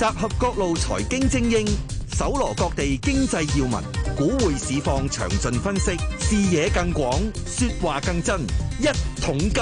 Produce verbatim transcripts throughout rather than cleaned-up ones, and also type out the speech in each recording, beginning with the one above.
集合各路財經精英，搜羅各地經濟要聞，股匯市況詳盡分析，視野更廣，說話更真。一桶金。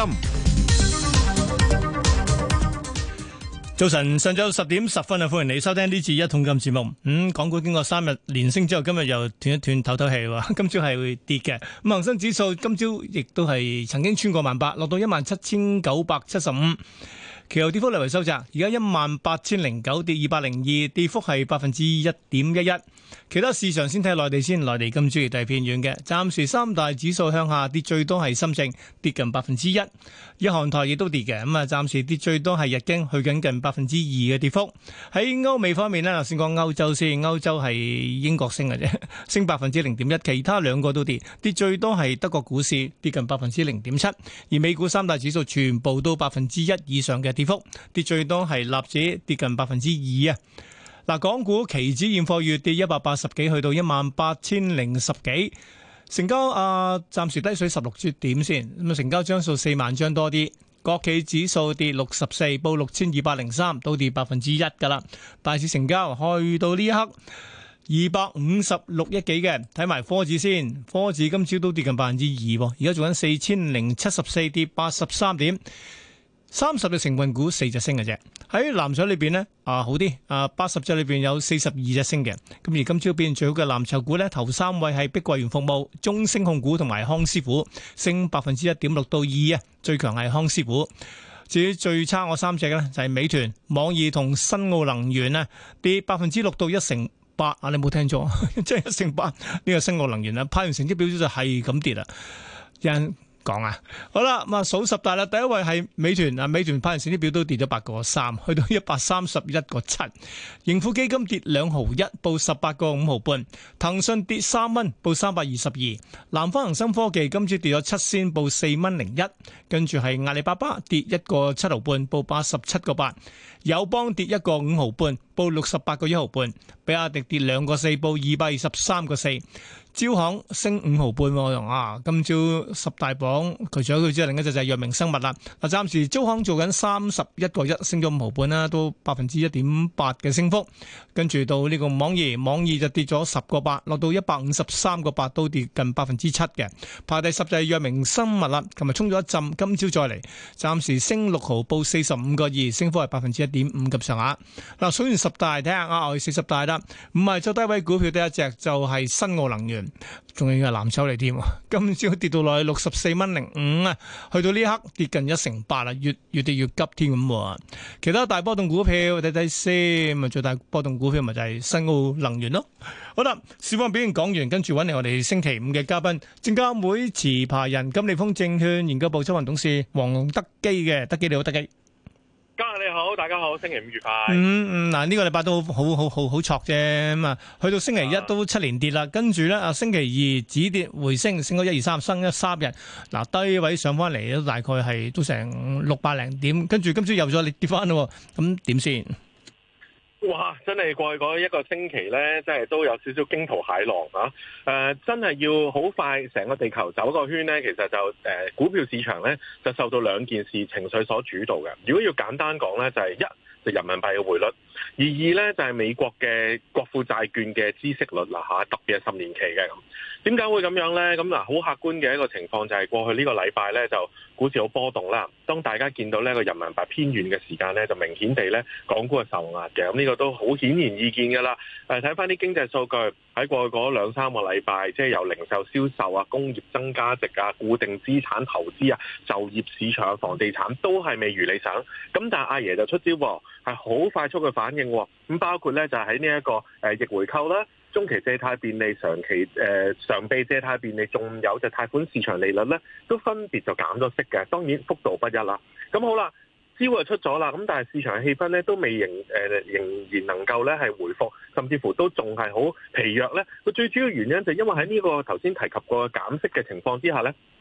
早晨，上晝十點十分啊，歡迎你收聽呢次一桶金節目。嗯，港股經過三日連升之後，今日又斷一斷透透氣喎。今朝係會跌嘅。咁恒生指數今朝亦都係曾經穿過萬八，落到一萬七千九百七十五。其後跌幅略為收窄，而家一萬八千零九，跌二百零二，跌幅係百分之一點一一。其他市場先睇內地先，內地今朝亦都係偏軟嘅，暫時三大指數向下跌，最多係深證跌近百分之一，日韓台亦都跌嘅，咁啊暫時跌最多係日經去緊近百分之二嘅跌幅。喺歐美方面呢，先講歐洲先，歐洲係英國升嘅啫，升百分之零點一，其他兩個都跌，跌最多係德國股市跌近百分之零點七，而美股三大指數全部都百分之一以上嘅跌幅，跌最多係納指跌近百分之二啊。嗱，港股期指現貨月跌一百八十幾，去到一萬八千零十幾，成交啊暫時低水十六點先，咁啊成交張數四萬張多啲。國企指數跌六十四，報六千二百零三，都跌百分之一噶啦。大市成交去到呢一刻二百五十六億幾嘅，睇埋科指先，科指今朝都跌近百分之二，而家做緊四千零七十四，跌八十三點。三十隻成分股四隻升嘅啫，喺藍籌裏邊呢，啊好啲，啊八十隻裏邊有四十二隻升嘅，咁而今朝表現最好嘅藍籌股呢，頭三位係碧桂園服務、中升控股同埋康師傅，升百分之一點六到二啊，最強係康師傅。至於最差我三隻呢，就係美團、網易同新奧能源啊，跌百分之六到一成八啊，你冇聽錯，即係一成八呢個新奧能源啊，派完成績表就係咁跌啦，人。講啊，好啦，咁啊數十大啦，第一位係美團啊，美團派完成績表都跌咗八個三，去到一百三十一個七，盈富基金跌兩毫一，報十八個五毫半，騰訊跌三蚊，報三百二十二，南方恒生科技今朝跌咗七仙，報四蚊零一，跟住係阿里巴巴跌一個七毫半，報八十七個八，友邦跌一個五毫半，報六十八個一毫半，比亞迪跌兩個四，報二百二十三個四。招行升五毫半喎，啊！今朝十大榜，佢除咗佢之外，另一隻就係藥明生物啦。嗱，暫時招行做緊三十一個一，升咗五毫半啦，都百分之一點八嘅升幅。跟住到呢個網易，網易就跌咗十個八，落到一百五十三個八，都跌近百分之七嘅。排第十就係藥明生物啦，琴日衝咗一陣，今朝再嚟，暫時升六毫，報四十五個二，升幅係百分之一點五咁上下。嗱，數完十大，睇下額外四十大啦，唔係最低位股票第一隻就係新奧能源。仲要係藍籌嚟添，今朝跌到落去六十四蚊零五啊，去到呢刻跌近一成八啦，越越跌越急添咁。其他大波動股票睇睇先，咪最大波動股票咪就係新奧能源咯。好啦，市況表現講完，跟住揾嚟我哋星期五嘅嘉賓，證監會持牌人金利豐證券研究部執行董事黃德基嘅，德基你好，德基。 家下你好，大家好，星期五愉快。 嗯嗯，嗱、這、呢個禮拜都好好好好好挫啫，咁啊，去到星期一都七連跌啦，跟住咧啊星期二止跌回升，升咗一二三，升一三日，嗱低位上翻嚟都大概係都成六百零點，跟住今朝又再跌翻咯，咁點先？ 哇！真係過去嗰一個星期咧，真係都有少少驚濤駭浪啊！誒、呃，真係要好快成個地球走個圈咧，其實就誒、呃、股票市場咧就受到兩件事情緒所主導嘅。如果要簡單講咧，就係、是、一就人民幣嘅匯率，而二咧就係、是、美國嘅國庫債券嘅孳息率啦嚇，特別係十年期嘅咁。點解會咁樣咧？咁嗱，好客觀嘅一個情況就係過去呢個禮拜咧就股市好波動啦。當大家見到呢個人民幣偏軟嘅時間咧，就明顯地咧港股係受壓嘅。咁呢個都好顯然易見㗎啦。誒，睇翻啲經濟數據喺過去嗰兩三個禮拜，即係由零售銷售啊、工業增加值啊、固定資產投資啊、就業市場、房地產都係未如理想。咁但係阿爺就出招喎，係好快速嘅反應。咁包括咧就喺呢一個誒逆回購啦。中期借貸便利、長期誒常備借貸便利，仲有就貸款市場利率咧，都分別就減咗息嘅。當然幅度不一啦。咁好啦，招就出咗啦。咁但係市場嘅氣氛咧都未仍誒、呃、仍然能夠咧係回復，甚至乎都仲係好疲弱咧。個最主要原因就因為喺呢個頭先提及過嘅減息嘅情況之下咧。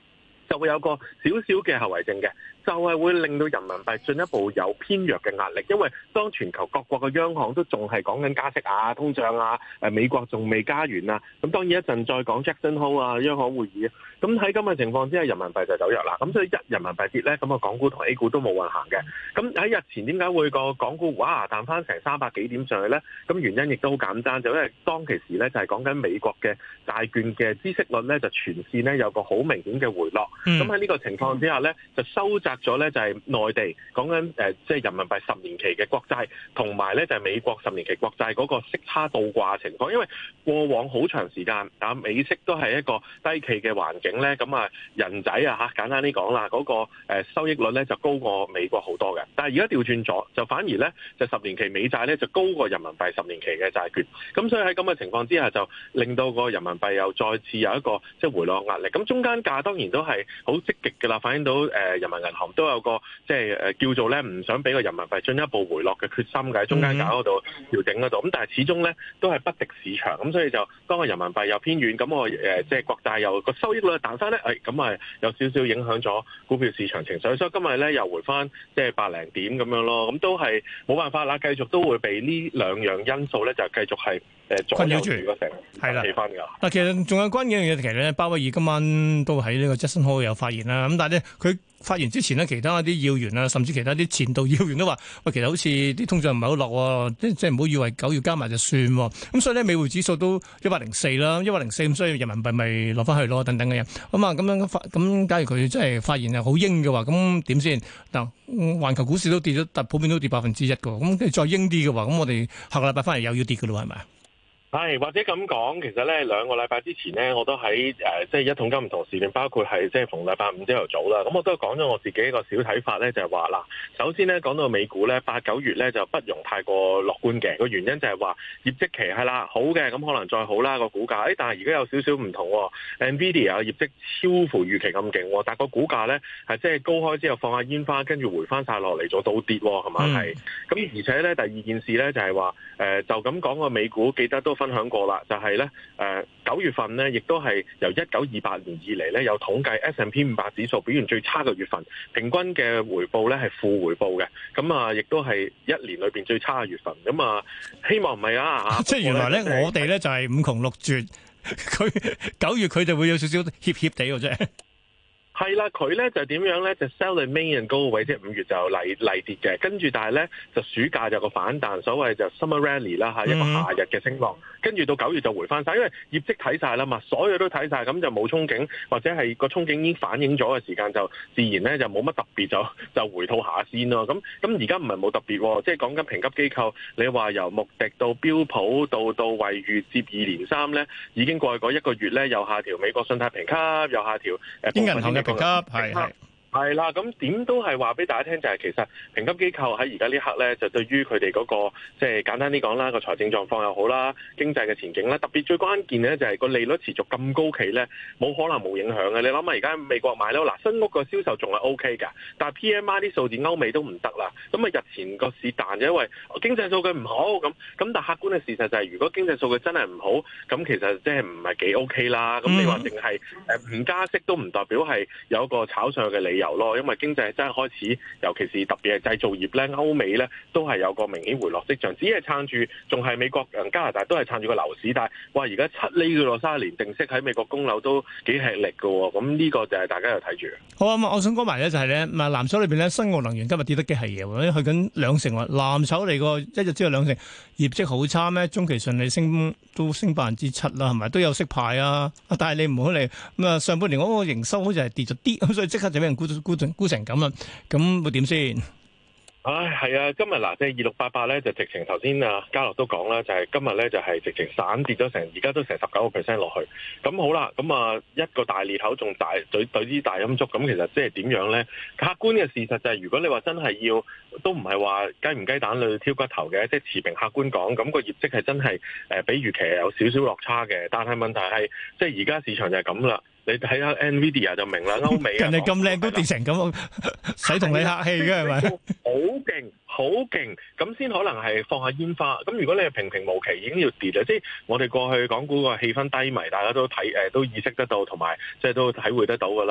就會有個少少嘅後遺症嘅，就係、是、會令到人民幣進一步有偏弱嘅壓力，因為當全球各國嘅央行都仲係講緊加息啊、通脹啊，誒美國仲未加完啊，咁當然一陣再講 Jackson Hole 啊，央行會議啊，咁喺咁嘅情況之下，人民幣就走弱啦，咁所以一人民幣跌咧，咁啊港股同 A 股都冇運行嘅，咁喺日前點解會個港股哇彈翻成三百幾點上去咧？咁原因亦都好簡單，就因為當其時咧就係講緊美國嘅債券嘅孳息率咧就全線咧有個好明顯嘅回落。咁喺呢個情況之下咧，就收窄咗咧，就係內地講緊誒，即係人民幣十年期嘅國債，同埋咧就係美國十年期國債嗰個息差倒掛情況。因為過往好長時間啊，美息都係一個低企嘅環境咧，咁啊人仔啊嚇，簡單啲講啦，嗰個誒收益率咧就高過美國好多嘅。但係而家調轉咗，就反而咧就十年期美債咧就高過人民幣十年期嘅債券。咁所以喺咁嘅情況之下，就令到個人民幣又再次有一個即係回落壓力。咁中間價當然都係好積極嘅啦，反映到誒人民銀行都有個即係誒叫做咧唔想俾個人民幣進一步回落嘅決心嘅，喺中間價嗰度調整嗰度。咁但係始終咧都係不敵市場，咁所以就當個人民幣又偏軟，咁我誒即係國債又個收益率彈翻咧，誒咁啊有少少影響咗股票市場情緒，所以今日咧又回翻即係百零點咁樣咯。咁都係冇辦法啦，繼續都會被呢兩樣因素咧就繼續係誒困擾住個成係啦氣氛㗎。 嗱，其實仲有關鍵一樣嘢，其實咧鮑威爾今晚都喺呢個 Jackson Hole 有發言啦。咁但係咧佢發言之前呢，其他啲要員啊，甚至其他啲前度要員都話：喂，其實好似啲通脹唔係好落，即即係唔好以為九月加埋就算。咁所以咧，美匯指數都一百零四啦，一百零四咁，所以人民幣咪落翻去咯，等等嘅嘢。咁啊，咁樣發咁，假如佢真係發言係好鷹嘅話，咁點先？嗱，環球股市都跌咗，但普遍都跌百分之一嘅。咁跟住再鷹啲嘅話，咁我哋下個禮拜翻嚟又要跌嘅咯，係咪？ 係，或者咁講，其實咧兩個禮拜之前咧，我都喺誒即係一桶金唔同時段，包括係即係逢禮拜五朝頭早啦。咁我都講咗我自己一個小睇法咧，就係話嗱，首先咧講到美股咧，八九月咧就不容太過樂觀嘅。個原因就係話業績期係啦，好嘅，咁可能再好啦個股價。誒，但係而家有少少唔同喎 ，Nvidia 嘅業績超乎預期咁勁，但係個股價咧係即係高開之後放下煙花，跟住回翻晒落嚟做倒跌，係咪係？咁、嗯、而且咧第二件事咧就係話誒就咁講個美股，記得都分享過啦，就係咧誒九月份咧，亦都係由一九二八年以嚟咧，有統計 S and P 五百指數表現最差嘅月份，平均嘅回報咧係負回報嘅，咁啊，亦都係一年裏邊最差嘅月份，咁啊，希望唔係啊嚇。即係原來咧，我哋咧就係五窮六絕，佢九月佢就會有少少怯怯地嘅啫。係啦，佢咧就點樣咧？就 sell the main and go away，即係五月就嚟嚟跌嘅，跟住但係咧就暑假就個反彈，所謂就 summer rally 啦嚇，一個夏日嘅升浪，跟住到九月就回翻晒，因為業績睇晒啦嘛，所有都睇晒，咁就冇憧憬，或者係個憧憬已經反映咗嘅時間，就自然咧就冇乜特別，就就回吐下先咯。咁咁而家唔係冇特別喎，即係講緊評級機構，你話由穆迪到標普到到惠譽接二連三咧，已經過去嗰一個月咧，又下調美國信貸評級，又下調誒部分嘅評級，係係係啦，咁點都係話俾大家聽，就係其實評級機構喺而家呢刻咧，就對於佢哋嗰個即係簡單啲講啦，個財政狀況又好啦，經濟嘅前景啦，特別最關鍵咧就係個利率持續咁高企咧，冇可能冇影響嘅。你諗下而家美國買樓嗱，新屋個銷售仲係 O K 㗎，但係 P M I 啲數字歐美都唔得啦。咁啊日前個市彈就因為經濟數據唔好咁，咁但係客觀嘅事實就係，如果經濟數據真係唔好，咁其實即係唔係幾 O K 啦。咁你話淨係誒唔加息都唔代表係有一個炒上嘅理由咯，因為經濟真係開始，尤其是特別係製造業咧，歐美咧都係有個明顯回落跡象，只係撐住，仲係美國、加拿大都係撐住個樓市，但係哇，而家七厘嘅咯，三十年定息喺美國供樓都幾吃力嘅喎，咁呢個就係大家又睇住。好啊，我想講埋咧就係咧，嗱藍籌裏邊咧，新奧能源今日跌得幾係嘢喎，去緊兩成喎，藍籌嚟個一日只有兩成，業績好差咩？中期順利升都升百分之七啦，係咪都有息派啊？但係你唔好嚟咁啊，上半年嗰個營收好似係跌咗啲，咁所以即刻就俾人估估估成咁啦，咁會點先？唉，係啊，今日嗱，即係二六八八咧，就直情頭先啊，嘉樂都講啦，就係、是、今日咧就係、是、直情散跌咗成，而家都成十九個 percent 落去。咁好啦，咁啊一個大裂口仲大對對啲大陰燭，咁其實即係點樣咧？客觀嘅事實就係、是，如果你話真係要，都唔係話雞唔雞蛋裏挑骨頭嘅，即係持平客觀講，咁、那個業績係真係誒比預期有少少落差嘅。但係問題係，即係而家市場就係咁啦。你睇下 Nvidia 就明啦，歐美人哋咁靚都跌成咁，使同你客氣嘅係咪？好勁，好勁，咁先可能係放下煙花。咁如果你係平平無奇，已經要跌啦。即係我哋過去港股個氣氛低迷，大家都睇誒都意識得到，同埋即係都體會得到㗎啦。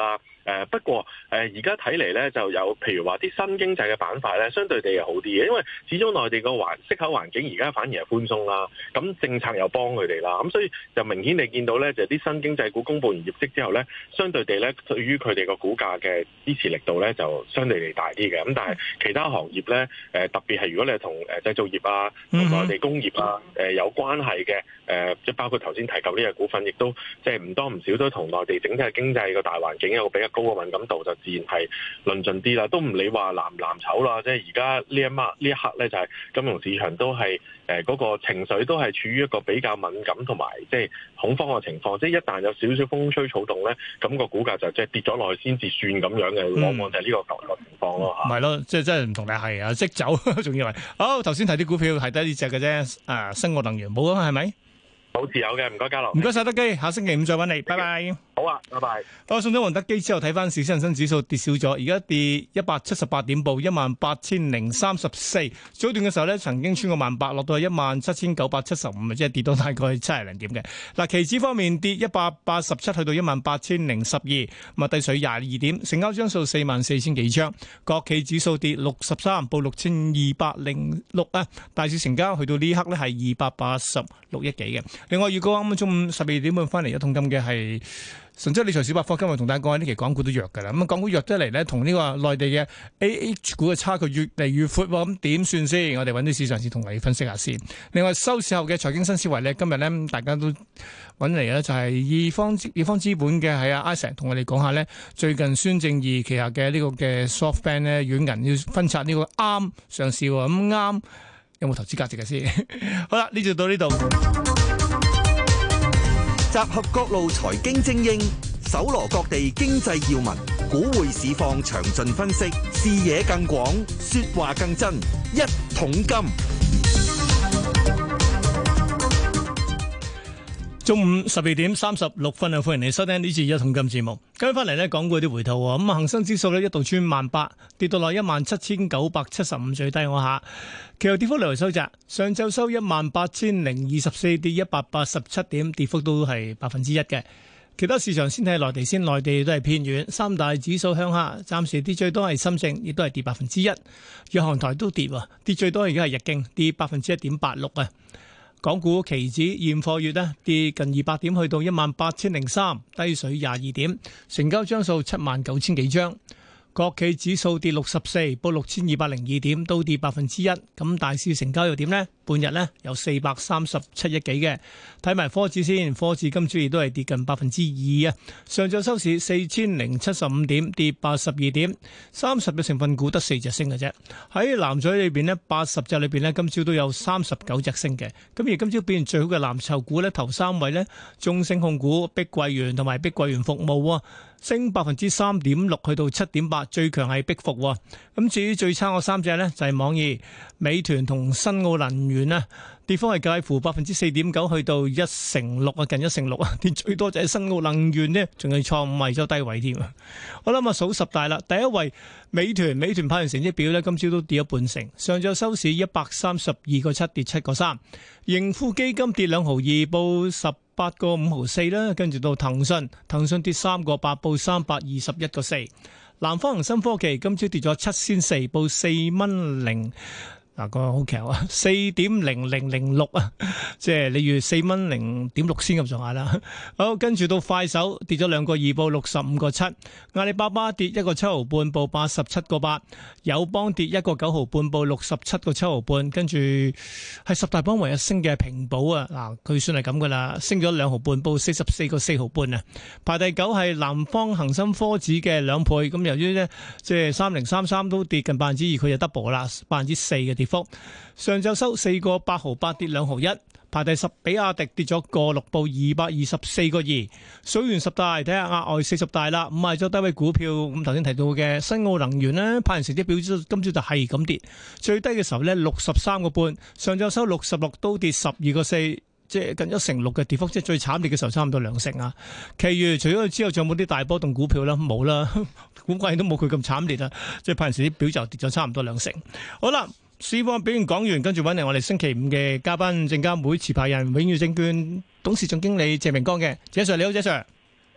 誒不過誒而家睇嚟咧，就有譬如話啲新經濟嘅板塊咧，相對地係好啲嘅，因為始終內地個環息口環境而家反而係寬鬆啦，咁政策又幫佢哋啦，咁所以就明顯地見到咧，就啲新經濟股公佈完業績之後咧，相對地咧對於佢哋個股價嘅支持力度咧就相對地大啲嘅。咁但係其他行業咧，誒特別係如果你係同誒製造業啊、同內地工業啊誒有關係嘅，誒即係包括頭先提及呢個股份，亦都即係唔多唔少都同內地整體嘅經濟個大環境有個比較高嘅敏感度，就自然係論盡啲啦。都唔理話藍唔藍籌啦，即係而家呢一刻呢一刻咧，就係金融市場都係誒嗰個情緒都係處於一個比較敏感同埋即係恐慌嘅情況。即係一旦有少少風吹草動咧，咁個股價就即係跌咗落去先至算咁樣嘅，往往就係呢個舊個情況咯嚇。 唔係咯，即係真係唔同你係啊，即走仲以為好頭先睇啲股票係得呢隻嘅啫，啊，新奧能源冇啊，係咪？ 冇持有嘅，唔該嘉樂， 唔該晒德基，下星期五再揾你，拜拜。 好啊，拜拜。 好，送咗黃德基之後，睇翻市恒生指數跌少咗，而家跌一百七十八點，報一萬八千零三十四。早段嘅時候咧，曾經穿過萬八，落到一萬七千九百七十五，即係跌到大概七十零點嘅。嗱，期指方面跌一百八十七，去到一萬八千零十二，咁啊低水廿二點，成交張數四萬四千幾張。國企指數跌六十三，報六千二百零六啊。大市成交去到呢刻咧係二百八十六億幾嘅。另外，如果啱啱中午十二點半翻嚟一桶金嘅係神州理財小百科，今日同大家講下呢期港股都弱㗎啦。咁啊，港股弱得嚟咧，同呢個內地嘅 A H 股嘅差距越嚟越闊喎。咁點算先？我哋揾啲市場先同你分析下先。另外，收市後嘅財經新思維咧，今日咧大家都揾嚟咧，就係易方易方資本嘅係阿 Isaac 同我哋講下咧，最近孫正義旗下嘅呢個嘅 SoftBank 咧軟銀要分拆呢個啱上市喎。咁啱有冇投資價值嘅先？好啦，呢就到呢度。 集合各路財經精英，搜羅各地經濟要聞，股匯市況詳盡分析，視野更廣，說話更真。一桶金， 中午十二點三十六分啊！歡迎你收聽呢次一桶金節目。跟翻嚟呢，港股啲回吐喎。咁啊，恒生指數呢一度穿萬八，跌到落一萬七千九百七十五，最低我下。其後跌幅略為收窄，上晝收一萬八千零二十四，跌一百八十七點，跌幅都係百分之一嘅。其他市場先睇內地先，內地都係偏軟，三大指數向下，暫時跌最多係深證，亦都係跌百分之一。日韓台都跌，跌最多而家係日經，跌百分之一點八六啊。港股期指現貨月呢跌近二百點，去到一萬八千零三，低水廿二點，成交張數七萬九千幾張。國企指數跌六十四，報六千二百零二點，都跌百分之一。咁大市成交又點呢？半日呢有四百三十七億幾嘅。睇埋科指先，科指今朝亦都係跌近百分之二啊。上晝收市四千零七十五點，跌八十二點。三十隻成分股得四隻升嘅啫。喺藍籌裏邊呢，八十隻裏邊呢，今朝都有三十九隻升嘅。咁而今朝表現最好嘅藍籌股呢，頭三位呢，中升控股、碧桂園同埋碧桂園服務，升百分之三點六，去到七點八。最強係碧服。咁至於最差嗰三隻呢，就係網易、美團同新奧能源啊，跌幅係介乎百分之四點九，去到一成六啊，近一成六啊，跌最多就係新奧能源呢，仲係創五位周低位添。我諗啊，數十大啦，第一位美團，美團派完成績表呢，今朝都跌咗半成，上晝收市一百三十二個七，跌七個三。盈富基金跌兩毫二，報十八個五毫四啦，跟住到騰訊，騰訊跌三個八，報三百二十一個四。南方恒生科技今朝跌咗七仙四，報四蚊零。嗱，個好強啊，四點零零零六啊，即係你預四蚊零點六先咁上下啦。好，跟住到快手跌咗兩個二，報六十五個七。阿里巴巴跌一個七毫半，報八十七個八。友邦跌一個九毫半，報六十七個七毫半。跟住係十大榜唯一升嘅平保啊，嗱，佢算係咁噶啦，升咗兩毫半，報四十四個四毫半啊。排第九係南方恒生科指嘅兩倍，咁由於呢，即係三零三三都跌近百分之二，佢就 double 啦，百分之四嘅跌幅。上晝收四個八毫八，跌兩毫一，排第十。比亞迪跌咗個六，報二百二十四個二。數完十大，睇下額外四十大啦。五賣咗低位股票，咁頭先提到嘅新奧能源呢，派完成績表今朝就係咁跌，最低嘅時候呢，六十三個半，上晝收六十六，都跌十二個四，即係近一成六嘅跌幅，即係最慘烈嘅時候差唔多兩成啊。其餘除咗佢之後，仲有冇啲大波動股票啦？冇啦，估計都冇佢咁慘烈啊。即係派完成績表就跌咗差唔多兩成。好啦。市況表現講完，跟住揾嚟我哋星期五嘅嘉賓，證監會持牌人永裕證券董事總經理謝明光嘅，謝 Sir 你好，謝 Sir。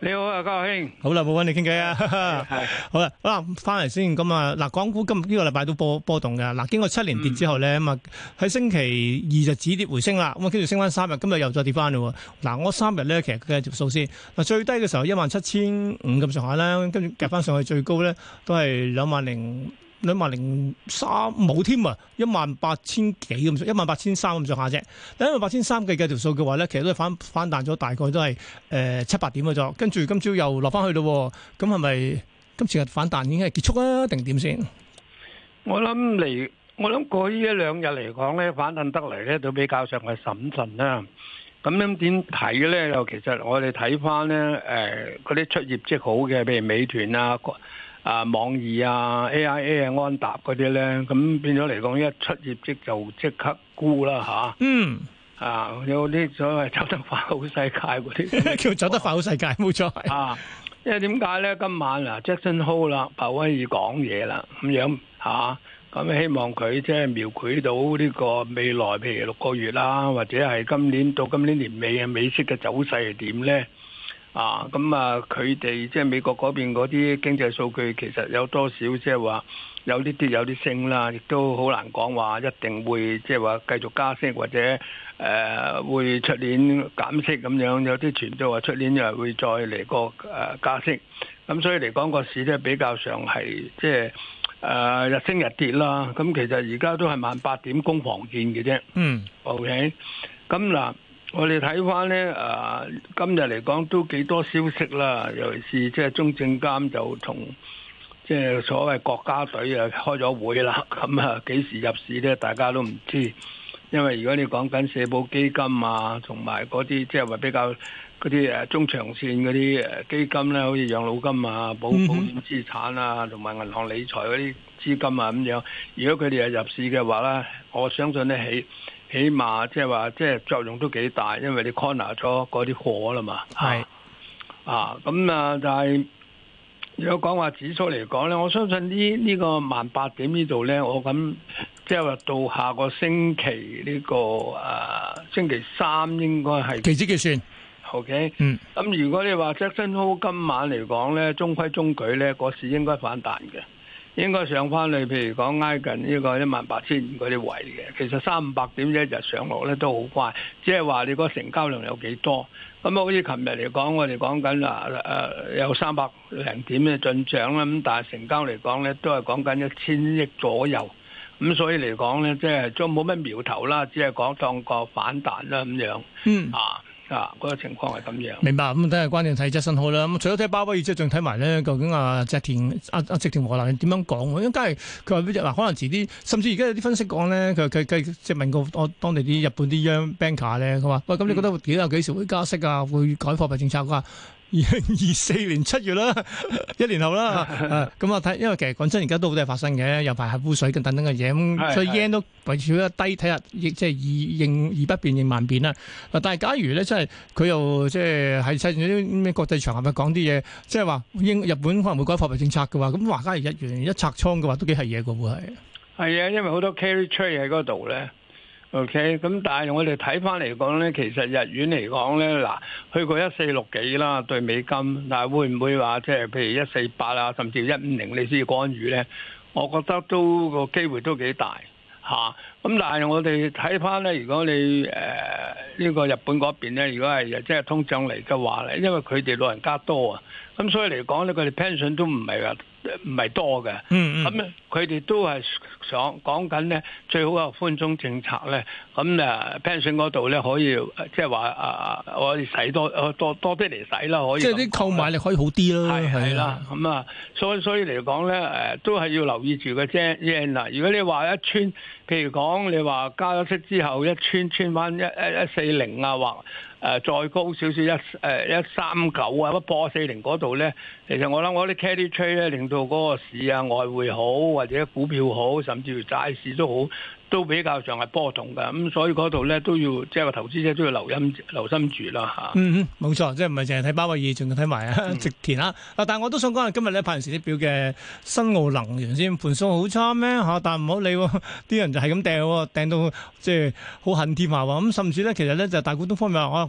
你好啊，家兄。 好啦，冇揾你傾偈啊。 係好啦，好啦，翻嚟先咁啊。嗱，港股今呢個禮拜都波波動嘅。嗱，經過七年跌之後咧，咁啊喺星期二就止跌回升啦。咁啊，跟住升翻三日，今日又再跌翻嘞。嗱，我三日咧，其實計條數先。嗱，最低嘅時候一萬七千五咁上下啦，跟住夾翻上去最高咧都係兩萬零。兩萬零三冇添啊，一萬八千幾咁，一萬八千三咁上下啫。但一萬八千三計計條數嘅話咧，其實都係反反彈咗，大概都係誒七八點嘅啫。跟住今朝又落翻去咯，咁係咪今次嘅反彈已經係結束啊？定點先？ 我諗嚟，我諗過呢一兩日嚟講咧，反彈得嚟咧都比較上係審慎啦。咁樣點睇咧？又其實我哋睇翻咧，誒嗰啲出業績好嘅，譬如美團啊。啊，網易啊、A I A 啊、安踏嗰啲咧，咁變咗嚟講，一出業績就即刻沽啦吓。 嗯， 啊，有啲所謂走得快好世界嗰啲， 叫走得快好世界，冇錯係。 啊，因為點解咧？今晚啊，Jackson Hole 啦，鮑威爾講嘢啦，咁樣吓，咁希望佢即係描繪到呢個未來，譬如六個月啦，或者係今年到今年年尾嘅美息嘅走勢係點咧？啊，咁啊，佢哋即係美國嗰邊嗰啲經濟數據，其實有多少即係話有啲跌有啲升啦，亦都好難講話一定會即係話繼續加息或者誒、呃、會出年減息咁樣，有啲傳都話出年又會再嚟個誒加息，咁所以嚟講個市咧比較上係即係誒日升日跌啦。咁其實而家都係萬八點攻防戰嘅啫。嗯，OK，咁嗱。我哋睇翻咧，誒、呃、今日嚟講都幾多消息啦，尤其是即係中證監就同即係所謂國家隊啊開咗會啦，咁啊幾時入市咧，大家都唔知，因為如果你講緊社保基金啊，同埋嗰啲即係話比較嗰啲誒中長線嗰啲誒基金咧，好似養老金啊、保保險資產啊，同埋銀行理財嗰啲資金啊咁樣，如果佢哋係入市嘅話咧，我相信咧起。起碼即係話，即係作用都幾大，因為你 corner 咗嗰啲貨啦嘛。係啊，咁啊，但係如果講話指數嚟講咧，我相信呢呢個萬八點呢度咧，我咁即係話到下個星期呢個誒星期三應該係期指結算。 OK， 嗯， 咁如果你話 Jackson Hole 今晚嚟講咧，中規中矩咧，個市應該反彈嘅。應該上翻去，譬如講挨近呢個一萬八千五嗰啲位嘅，其實三五百點一日上落咧都好快，即係話你個成交量有幾多？咁啊，好似琴日嚟講，我哋講緊啊誒有三百零點嘅進帳啦，咁但係成交嚟講咧都係講緊一千億左右，咁所以嚟講咧即係都冇乜苗頭啦，只係講當個反彈啦咁樣。嗯啊。啊，嗰、那個情況係咁樣。明白，咁睇下關鍵睇Jackson Hole啦。咁除咗睇鮑威爾之後，仲睇埋咧，究竟啊植田阿阿植田和男點樣講？因為梗係佢話嗱，可能遲啲，甚至而家有啲分析講咧，佢佢佢即係問過我當地啲日本啲央 banker 咧，佢話喂，咁你覺得幾啊幾時會加息啊？會改貨幣政策㗎？二零二四年七月啦，一年後啦，咁啊睇，因為其實講真，而家都好多嘢發生嘅，又排核污水等等嘅嘢，咁所以 yen 都維持咗低，睇下亦即係以應以不變應萬變啦。嗱，但係假如咧，真係佢又即係喺世啲咩國際場合咪講啲嘢，即係話英日本可能會改貨幣政策嘅話，咁話假如日元一拆倉嘅話，都幾係嘢嘅喎係。係啊，因為好多 carry trade 喺嗰度咧。OK，咁但係我哋睇翻嚟講咧，其實日元嚟講咧，嗱去過一四六幾啦對美金，但係會唔會話即係譬如一四八啊，甚至一五零你先至干預咧？我覺得都個機會都幾大嚇。咁但係我哋睇翻咧，如果你誒呢、呃這個日本嗰邊咧，如果係即係通脹嚟嘅話咧，因為佢哋老人家多啊，咁所以嚟講咧，佢哋 pension 都唔係話唔係多嘅。嗯嗯。咁咧，佢哋都係想講緊咧，最好有寬鬆政策咧。咁誒 pension 嗰度咧可以即係話啊，我哋使多多多啲嚟使啦，可以。即係啲購買力可以好啲咯。係係啦。咁啊，所以所以嚟講咧，誒都係要留意住嘅啫。嗱，如果你話一穿，譬如講你話加咗息之後一穿穿翻一一一四零啊，或誒再高少少一誒一三九啊，不破四零嗰度咧，其實我諗我啲 carry trade 咧，令到嗰個市啊外匯好或者股票好，甚至乎債市都好。都比較上係波動嘅，咁所以嗰度咧都要即係個投資者都要留心留心住啦嚇。嗯嗯，冇錯，即係唔係淨係睇鮑威爾，仲要睇埋啊植田啊。啊，但係我都想講下今日咧派完時啲表嘅新奧能源先盤數好差咩嚇？但係唔好理喎，啲人就係咁掟喎，掟到即係好恨添下喎。咁甚至咧，其實咧就大股東方面話，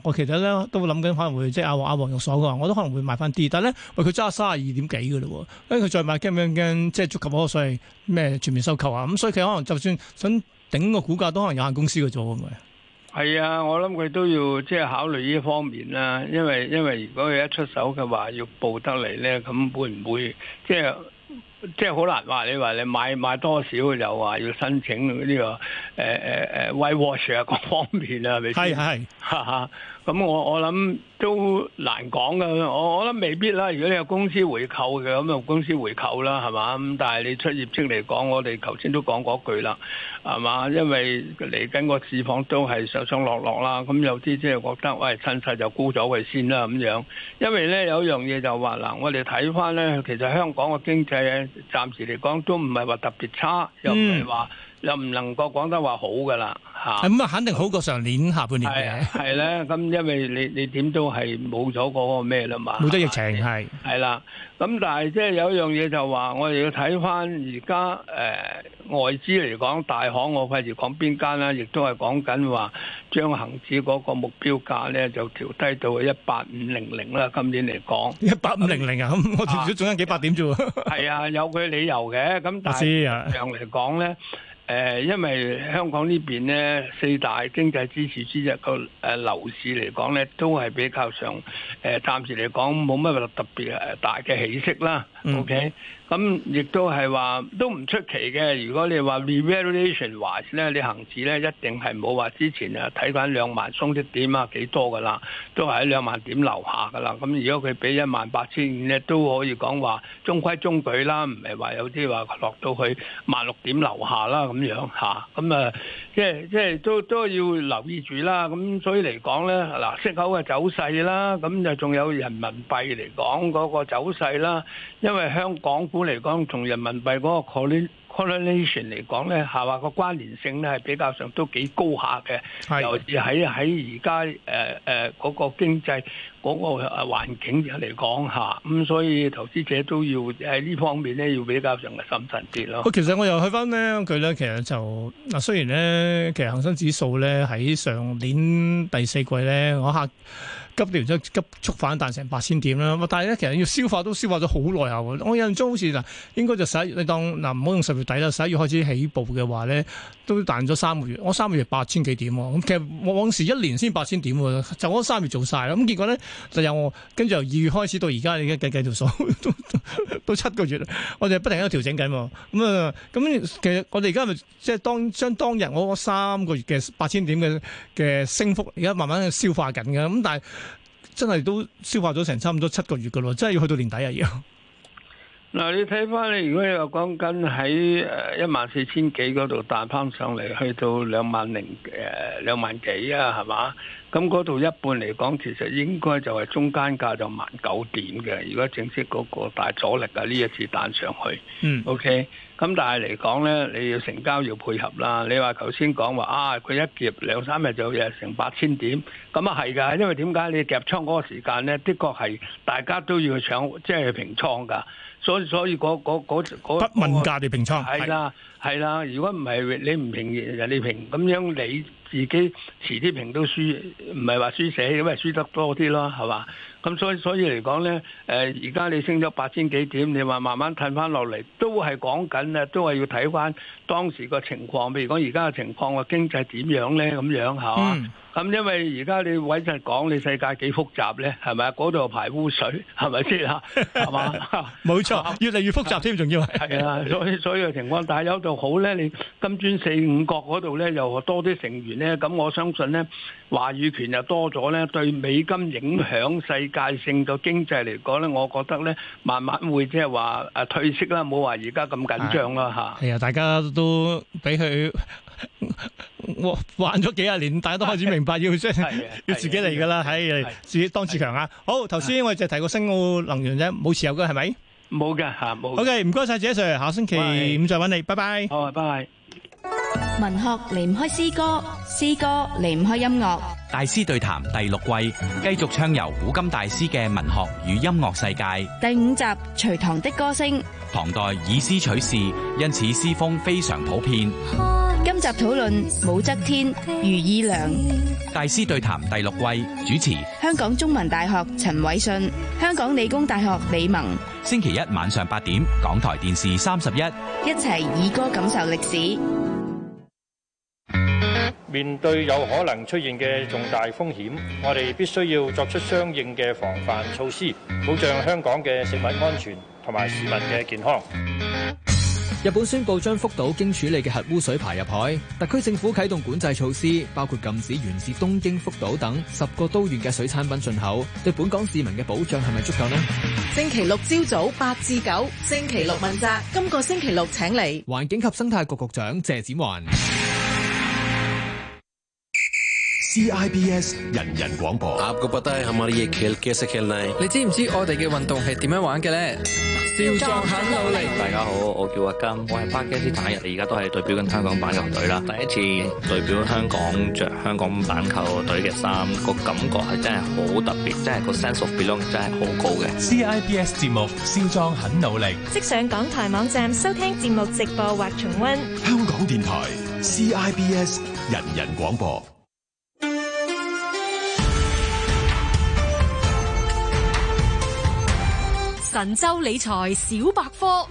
我其實咧都諗緊可能會即係阿阿黃玉鎖嘅話，我都可能會買翻啲。但係咧，喂佢揸三十二點幾嘅咯，跟住佢再買驚唔驚即係觸及嗰個所謂咩全面收購啊？咁所以佢可能就算想頂個股價，都可能有限公司嘅啫，係咪？ 係啊，我諗佢都要即係考慮呢方面啦，因為因為如果佢一出手嘅話要報得嚟咧，咁會唔會即係即係好難話？你話你買買多少又話要申請呢、這個誒誒誒 white wash 啊各方面啊，係咪先？ 係係哈哈，咁我我諗都難講噶，我我諗未必啦。如果你有公司回購嘅，咁就公司回購啦，係嘛？咁但係你出業績嚟講，我哋頭先都講嗰句啦，係嘛？因為嚟緊個市況都係上上落落啦，咁有啲即係覺得喂趁勢就沽咗佢先啦咁樣。因為咧有一樣嘢就話嗱，我哋睇翻咧，其實香港嘅經濟暫時嚟講都唔係話特別差，又唔係話。又唔能夠講得話好噶啦嚇， 咁啊肯定好過上年下半年嘅。 係咧，咁因為你你點都係冇咗嗰個咩啦嘛， 冇咗疫情係係啦。咁但係即係有一樣嘢就話，我哋要睇翻而家誒外資嚟講，大行我費事講邊間啦，亦都係講緊話將恆指嗰個目標價咧就調低到一八五零零啦。今年嚟講一八五零零啊，咁我調咗仲有幾百點啫喎。係啊，有佢理由嘅。咁但係樣嚟講咧。誒，因為香港呢邊咧四大經濟支柱之一個誒樓市嚟講咧，都係比較上誒暫時嚟講冇乜特別誒大嘅起色啦。嗯、OK，咁亦都係話都唔出奇嘅。如果你話 revaluation wise 咧，你恆指咧一定係冇話之前啊睇翻兩萬鬆啲點啊幾多噶啦，都係喺兩萬點樓下噶啦。咁如果佢俾一萬八千五咧，都可以講話中規中矩啦，唔係話有啲話落到去萬六點樓下啦咁樣嚇。咁啊，即係即係都都要留意住啦。咁所以嚟講咧，嗱息口嘅走勢啦，咁就仲有人民幣嚟講嗰個走勢啦。因為香港股嚟講，同人民幣嗰個 correlation 嚟講咧，係話個關聯性咧係比較上都幾高下嘅，尤其喺喺而家誒誒嗰個經濟嗰個環境嚟講下，咁所以投資者都要喺呢方面咧要比較上嘅審慎啲咯。 其實我又去翻呢佢咧，其實就嗱，雖然咧，其實恒生指數咧喺上年第四季咧，我下急跌咗急速反彈成八千點啦，但係咧其實要消化都消化咗好耐下喎。我印象中好似嗱，應該就十一月，你當嗱唔好用十月底啦，十一月開始起步嘅話咧，都彈咗三個月。我三個月八千幾點喎，咁其實我往時一年先八千點喎，就嗰三月做晒啦。咁結果咧就由我跟住由二月開始到而家，你而家計計條數都都，都七個月啦，我哋不停喺度調整緊喎。咁啊咁其實我哋而家咪即係當將當日我三個月嘅八千點嘅嘅升幅，而家慢慢消化緊嘅。咁但係真係都消化咗成差唔多七個月噶咯，真係要去到年底啊！要嗱，你睇翻你，如果你話講緊喺誒一萬四千幾嗰度彈翻上嚟，去到兩萬零誒兩萬幾啊，係嘛？咁嗰度一半嚟講，其實應該就係中間價就萬九點嘅。如果正式嗰個大阻力啊，呢一次彈上去，嗯，OK。咁但係嚟講咧，你要成交要配合啦。你話頭先講話啊，佢一夾兩三日就有成八千點，咁啊係㗎。因為點解你夾倉嗰個時間咧，的確係大家都要去搶，即係平倉㗎。所以所以嗰嗰嗰嗰不問價地平倉係啦係啦。如果唔係你唔平人哋平，咁樣你自己遲啲平都輸，唔係話輸死，因為輸得多啲咯，係嘛？咁所以所以嚟講咧，誒而家你升咗八千幾點，你話慢慢褪翻落嚟，都係講緊啊，都係要睇翻當時個情況。譬如講而家嘅情況個經濟點樣咧，咁樣係嘛？嗯咁因為而家你委實講你世界幾複雜咧，係咪啊？嗰度排污水係咪先啊？係嘛？ 冇錯，越嚟越複雜添，仲要係。 係啊，所以所以嘅情況，但係有度好咧，你金磚四五國嗰度咧又多啲成員咧，咁我相信咧話語權又多咗咧，對美金影響世界性嘅經濟嚟講咧，我覺得咧慢慢會即係話誒退息啦，冇話而家咁緊張啦嚇。 係啊，大家都俾佢。我玩咗幾廿年，大家都開始明白要即係要自己嚟噶啦，係自己當自強啊！好，頭先我哋就提過新奧能源啫，冇持有嘅係咪？ 冇嘅吓，冇。 OK，唔該晒，謝 Sir，下星期五再揾你，拜拜。 好，拜拜。 文學離唔開詩歌，詩歌離唔開音樂。 大師對談第六季繼續暢遊古今大師嘅文學與音樂世界。 第五集隋唐的歌聲。 唐代以詩取士，因此詩風非常普遍。 今集討論武則天、余以良。 大師對談第六季，主持香港中文大學陳偉信，香港理工大學李萌。 星期一晚上八點，港台電視三十一， 一齊以歌感受歷史。 面對有可能出現嘅重大風險，我哋必須要作出相應嘅防範措施，保障香港嘅食物安全同埋市民嘅健康。 日本宣布將福島經處理嘅核污水排入海，特區政府啟動管制措施，包括禁止源自東京、福島等十個都縣嘅水產品進口。對本港市民嘅保障係咪足夠呢？ 星期六朝早八至九，星期六問責。今個星期六請嚟環境及生態局局長謝展寰。 C I B S 人人廣播。 你知唔知我哋嘅運動係點樣玩嘅咧？少壯很努力。 大家好，我叫阿金，我係巴基斯坦人，而家都係代表緊香港板球隊啦。第一次代表香港着香港板球隊嘅衫，個感覺係真係好特別，真係個 sense of belonging 真係好高嘅。 C I B S 節目少壯很努力， 即上港台網站收聽節目直播或重溫。 香港電台 C I B S 人人廣播。 神州理財小百科。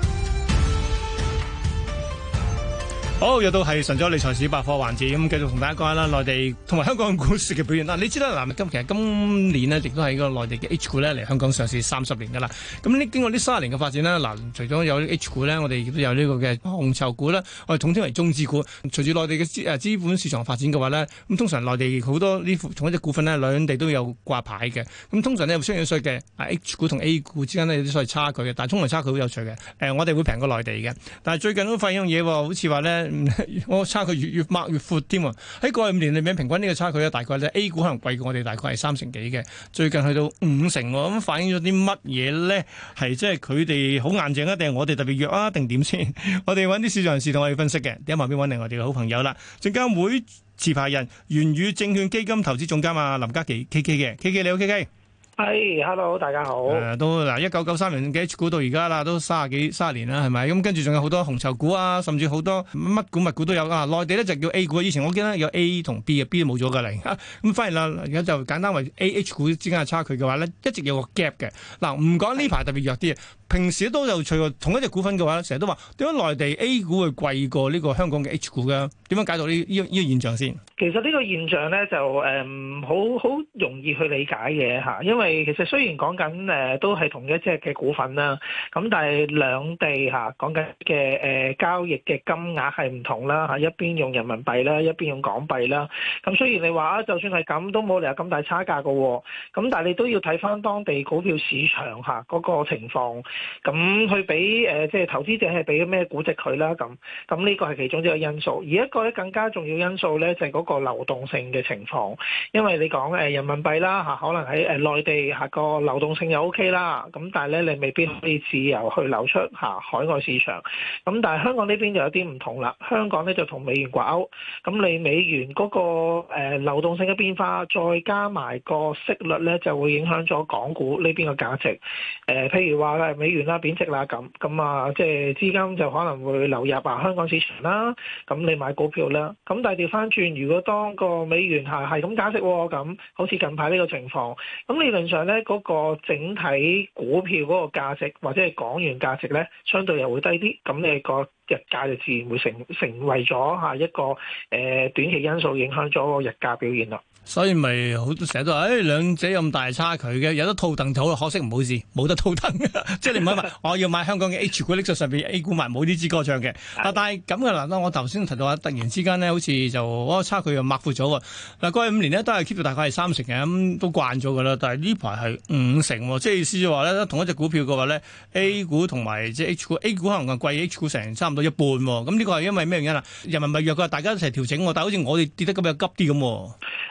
好，又到係神州理財小百科環節，咁繼續同大家講下啦，內地同埋香港股市嘅表現啦。你知啦，嗱，今其實今年呢，亦都係個內地嘅 H 股咧嚟香港上市三十年噶啦。咁呢經過呢三十年嘅發展呢，嗱，除咗有 H 股咧，我哋亦都有呢個嘅紅籌股啦，我哋統稱為中資股。隨住內地嘅資誒資本市場發展嘅話呢，咁通常內地好多呢同一隻股份呢，兩地都有掛牌嘅。咁通常呢，有相應稅嘅 H 股同 A 股之間呢，有啲所謂差距嘅，但係通常差距好有趣嘅。誒、呃，我哋會平過內地嘅，但係最近都發現一樣嘢，好似話呢。我差距越越擘越闊添喎！喺過去五年裏面，平均呢個差距咧，大概咧 A 股可能貴過我哋，大概係三成幾嘅，最近去到五成喎。咁反映咗啲乜嘢咧？係即係佢哋好硬淨啊，定係我哋特別弱啊？定點先？我哋揾啲市場人士同我哋分析嘅。喺旁邊揾嚟我哋嘅好朋友啦，證監會持牌人元宇證券基金投資總監啊林嘉麒 K K 嘅 K K 你好 K K。 係、hey，hello， 大家好。誒、 呃，都嗱，一九九三年嘅 H 股到而家啦，都三十幾三十年啦，係咪？咁跟住仲有好多紅籌股啊，甚至好多乜股物股都有啊。內地咧就叫 A 股，以前我記得有 A 同 B 嘅 B 都冇咗噶嚟。咁反而啦，而家就簡單為 A H 股之間嘅差距嘅話咧，一直有個 gap 嘅。嗱，唔講呢排特別弱啲，平時都有趣喎。同一隻股份嘅話，成日都話點解內地 A 股會貴過呢個香港嘅 H 股嘅？點樣解讀呢呢呢個現象先？ 其實呢個現象咧就誒好好容易去理解嘅嚇，因為其實雖然講緊誒都係同一隻嘅股份啦，咁但係兩地嚇講緊嘅誒交易嘅金額係唔同啦嚇，一邊用人民幣啦，一邊用港幣啦。咁雖然你話啊，就算係咁都冇理由咁大差價嘅喎，咁但係你都要睇翻當地股票市場嚇嗰個情況，咁去俾誒即係投資者係俾咩估值佢啦咁，咁呢個係其中一個因素。而一個咧更加重要因素咧就係嗰個流動性嘅情況，因為你講誒人民幣啦嚇，可能喺誒內地嚇個流動性又 OK 啦，咁但係咧你未必可以自由去流出嚇海外市場。咁但係香港呢邊就有啲唔同啦，香港咧就同美元掛鈎，咁你美元嗰個誒流動性嘅變化，再加埋個息率咧，就會影響咗港股呢邊嘅價值。誒譬如話咧美元啦貶值啦咁，咁啊即係資金就可能會流入啊香港市場啦，咁你買股票啦。咁但係調翻轉，如果當個美元係係咁加息喎，咁好似近排呢個情況，咁理論上咧嗰個整體股票嗰個價值或者係港元價值咧，相對又會低啲，咁你個日價就自然會成成為咗嚇一個誒、呃、短期因素影響咗個日價表現啦。 所以咪好成日都話，誒、哎、兩者咁大差距嘅，有得套戥就好，可惜唔好意思，冇得套戥嘅，即係你唔可以話我要買香港嘅 H 股，拎出上邊 A 股買，冇呢支歌唱嘅。啊，但係咁嘅嗱，我頭先提到話，突然之間呢，好似就嗰個差距又擘闊咗喎。嗱，過去五年呢，都係 keep 到大概係三成嘅，咁都慣咗㗎啦。但係呢排係五成喎，即係意思就話咧，同一隻股票嘅話咧 ，A 股同埋即係 H 股 ，A 股可能貴 H 股成差唔多一半喎。咁呢個係因為咩原因啊？人民幣弱嘅，大家一齊調整喎，但係好似我哋跌得咁又急啲咁。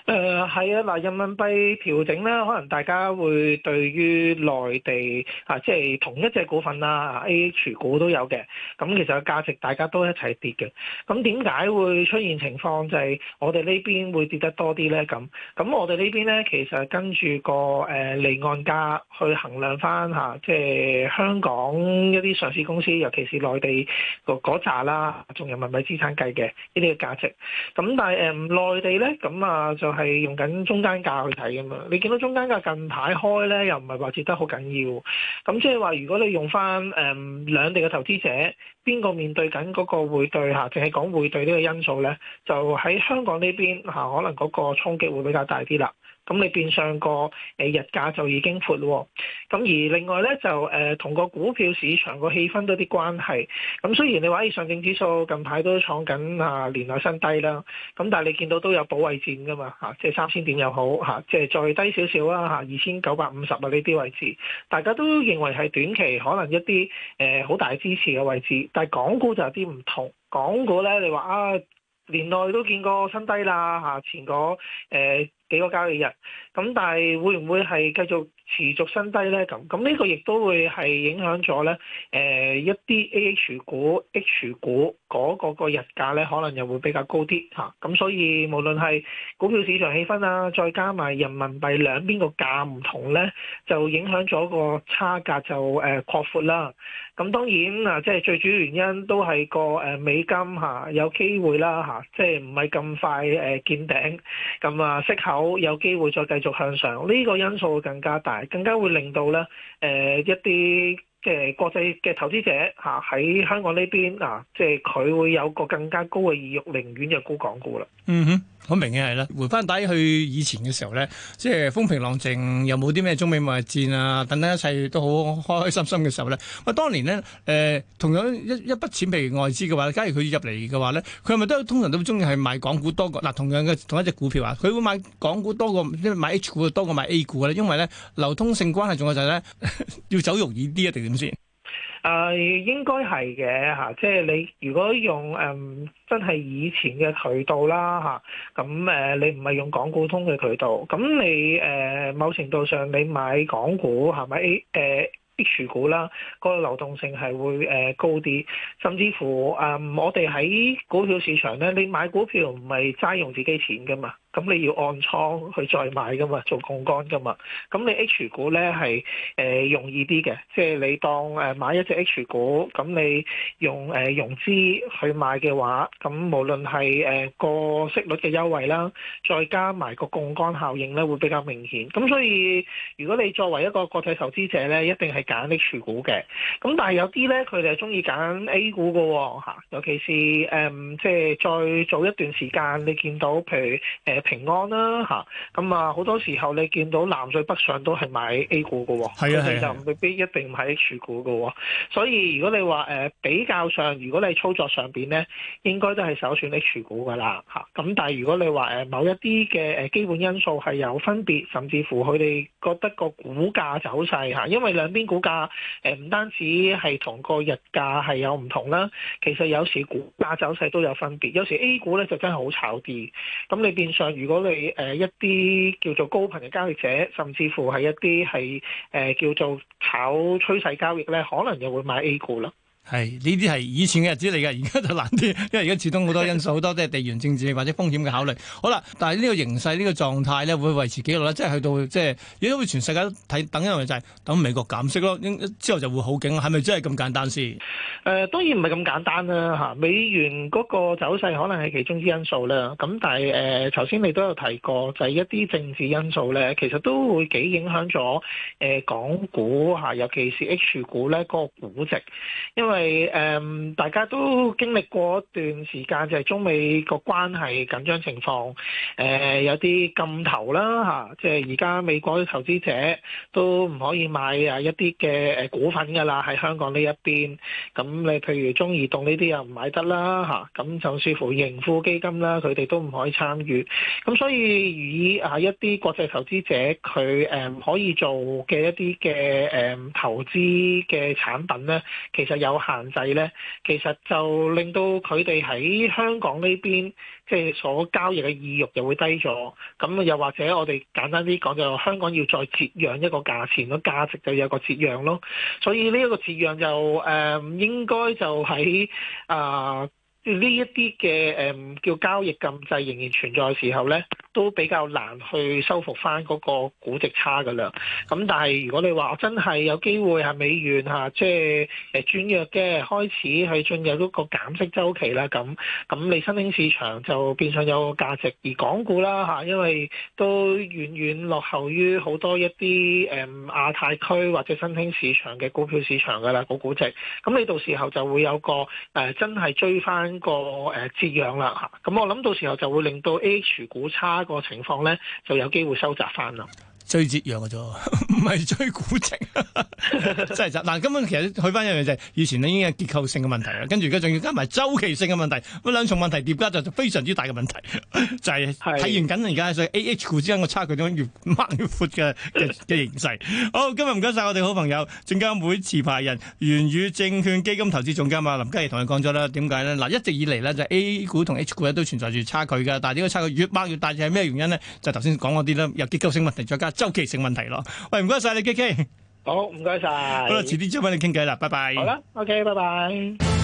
誒係啊，嗱，人民幣調整咧，可能大家會對於內地啊，即係同一隻股份啦 ，A H 股都有嘅，咁其實個價值大家都一齊跌嘅。咁點解會出現情況就係我哋呢邊會跌得多啲咧？咁咁我哋呢邊咧，其實跟住個誒離岸價去衡量翻嚇，即係香港一啲上市公司，尤其是內地個嗰扎啦，仲人民幣資產計嘅呢啲嘅價值。咁但係誒內地咧，咁啊就係用緊中間價去睇噶嘛。你見到中間價近排開咧，又唔係話跌得好緊要。咁即係話，如果你用翻誒兩地嘅投資者，邊個面對緊嗰個匯兌嚇，淨係講匯兌呢個因素咧，就喺香港呢邊嚇，可能嗰個衝擊會比較大啲啦。咁你變相個誒日價就已經闊喎，咁而另外咧就誒同個股票市場個氣氛都有啲關係。咁雖然你話上證指數近排都創緊啊年內新低啦，咁但係你見到都有保衛戰噶嘛嚇，即係三千點又好嚇，即係再低少少啦嚇，二千九百五十啊呢啲位置，大家都認為係短期可能一啲誒好大支持嘅位置，但係港股就有啲唔同。港股咧，你話啊年內都見過新低啦嚇，前嗰誒。呃幾個交易日，咁但係會唔會係繼續持續新低咧？咁咁呢個亦都會係影響咗咧，誒、呃、一啲 A H 股、H 股嗰個個日價咧，可能又會比較高啲嚇。咁、啊、所以無論係股票市場氣氛啊，再加埋人民幣兩邊個價唔同咧，就影響咗個差價就誒、呃、擴闊啦。咁當然啊，即係最主要原因都係個誒美金嚇、啊、有機會啦嚇、啊，即係唔係咁快誒、呃、見頂，咁啊息口有機會再繼續向上，呢、這個因素會更加大，更加會令到咧誒、呃、一啲嘅國際嘅投資者嚇喺香港呢邊啊，即係佢會有個更加高嘅意欲，寧願就沽港股啦。 嗯哼，好明顯係啦。回翻底去以前嘅時候咧，即係風平浪靜，又冇啲咩中美貿易戰啊，等等一切都好開開心心嘅時候咧。喂，當年咧誒、呃，同樣一一筆錢譬如外資嘅話，假如佢入嚟嘅話咧，佢係咪都通常都中意係買港股多過嗱？同樣嘅同一隻股票啊，佢會買港股多過即係買 H 股多過買 A 股咧？因為咧流通性關係，仲有就係咧要走容易啲一定點先？ 誒、呃、應該係嘅嚇，即係你如果用誒、嗯、真係以前嘅渠道啦嚇，咁誒、呃、你唔係用港股通嘅渠道，咁你誒、呃、某程度上你買港股係咪 A 誒 H 股啦，嗰個流動性係會誒高啲，甚至乎誒、嗯、我哋喺股票市場咧，你買股票唔係齋用自己錢噶嘛。咁你要按倉去再買噶嘛，做槓桿噶嘛。咁你 H 股咧係誒容易啲嘅，即係你當誒買一隻 H 股，咁你用誒、呃、融資去買嘅話，咁無論係誒個息率嘅優惠啦，再加埋個槓桿效應咧，會比較明顯。咁所以如果你作為一個國際投資者咧，一定係揀 H 股嘅。咁但係有啲咧，佢哋係中意揀 A 股嘅喎嚇，尤其是誒、嗯、即係再早一段時間，你見到譬如誒。呃平安啦嚇，咁啊好多時候你見到南水北上都係買 A 股嘅喎，佢哋就未必一定買 H 股嘅喎。所以如果你話誒、呃、比較上，如果你操作上邊咧，應該都係首選 H 股嘅啦嚇。咁但係如果你話誒某一啲嘅誒基本因素係有分別，甚至乎佢哋覺得個股價走勢嚇，因為兩邊股價誒唔單止係同個日價係有唔同啦，其實有時股價走勢都有分別。有時 A 股咧就真係好炒啲，咁你變相。如果你誒一啲叫做高頻嘅交易者，甚至乎係一啲係誒叫做炒趨勢交易咧，可能又會買 A 股啦。 係呢啲係以前嘅日子嚟嘅，而家就難啲，因為而家始終好多因素，好多都係地緣政治或者風險嘅考慮。好啦，但係呢個形勢、呢、呢個狀態咧，會維持幾耐咧？即係去到即係，亦都會全世界都睇等一樣嘢，就係等美國減息咯。之後就會好勁，係咪真係咁簡單先？誒、 呃，當然唔係咁簡單啦嚇。美元嗰個走勢可能係其中之因素啦。咁但係誒，頭、呃、先你都有提過，就係、是、一啲政治因素咧，其實都會幾影響咗誒、呃、港股嚇，尤其是 H 股咧嗰、那個估值，因為因為誒、嗯，大家都經歷過一段時間，就係、是、中美個關係緊張情況，誒、呃、有啲禁投啦嚇，即係而家美國啲投資者都唔可以買啊一啲嘅誒股份㗎啦，喺香港呢一邊。咁你譬如中移動呢啲又唔買得啦嚇，咁就似乎盈富基金啦，佢哋都唔可以參與。咁所以以啊一啲國際投資者佢誒可以做嘅一啲嘅誒投資嘅產品咧，其實有限制咧，其實就令到佢哋喺香港呢邊即係所交易嘅意欲又會低咗。咁又或者我哋簡單啲講，就香港要再折讓一個價錢，個價值就有個折讓咯。所以呢一個折讓就誒、呃、應該就喺啊呢一啲嘅誒叫交易禁制仍然存在嘅時候咧，都比較難去收復翻嗰個估值差㗎啦。咁但係如果你話真係有機會係美元嚇，即係誒轉弱嘅，開始去進入嗰個減息週期啦。咁咁你新興市場就變相有個價值，而港股啦嚇，因為都遠遠落後於好多一啲誒亞太區或者新興市場嘅股票市場㗎啦，個估值。咁你到時候就會有個誒、呃、真係追翻個誒折讓啦嚇。咁我諗到時候就會令到 A H 股差個情況咧，就有機會收窄翻啦。 追折讓嘅啫，唔係追估值，真係就嗱。根本其實去翻一樣嘢就係以前咧已經係結構性嘅問題啦，跟住而家仲要加埋周期性嘅問題，咁兩重問題疊加就非常之大嘅問題，就係體現緊而家所以 A H 股之間個差距點樣越掹越闊嘅嘅嘅形勢。好，今日唔該晒我哋好朋友證監會持牌人元宇證券基金投資總監啊林嘉怡同你講咗啦，點解咧？嗱，一直以嚟咧就 A 股同 H 股咧都存在住差距嘅，但係呢個差距越掹越大，就係咩原因咧？就頭先講嗰啲啦，有結構性問題再加周期性問題咯。喂，唔該晒你 K K。 好，唔該晒。 好啦，遲啲再揾你傾偈啦，拜拜。 好啦 ，OK，拜拜。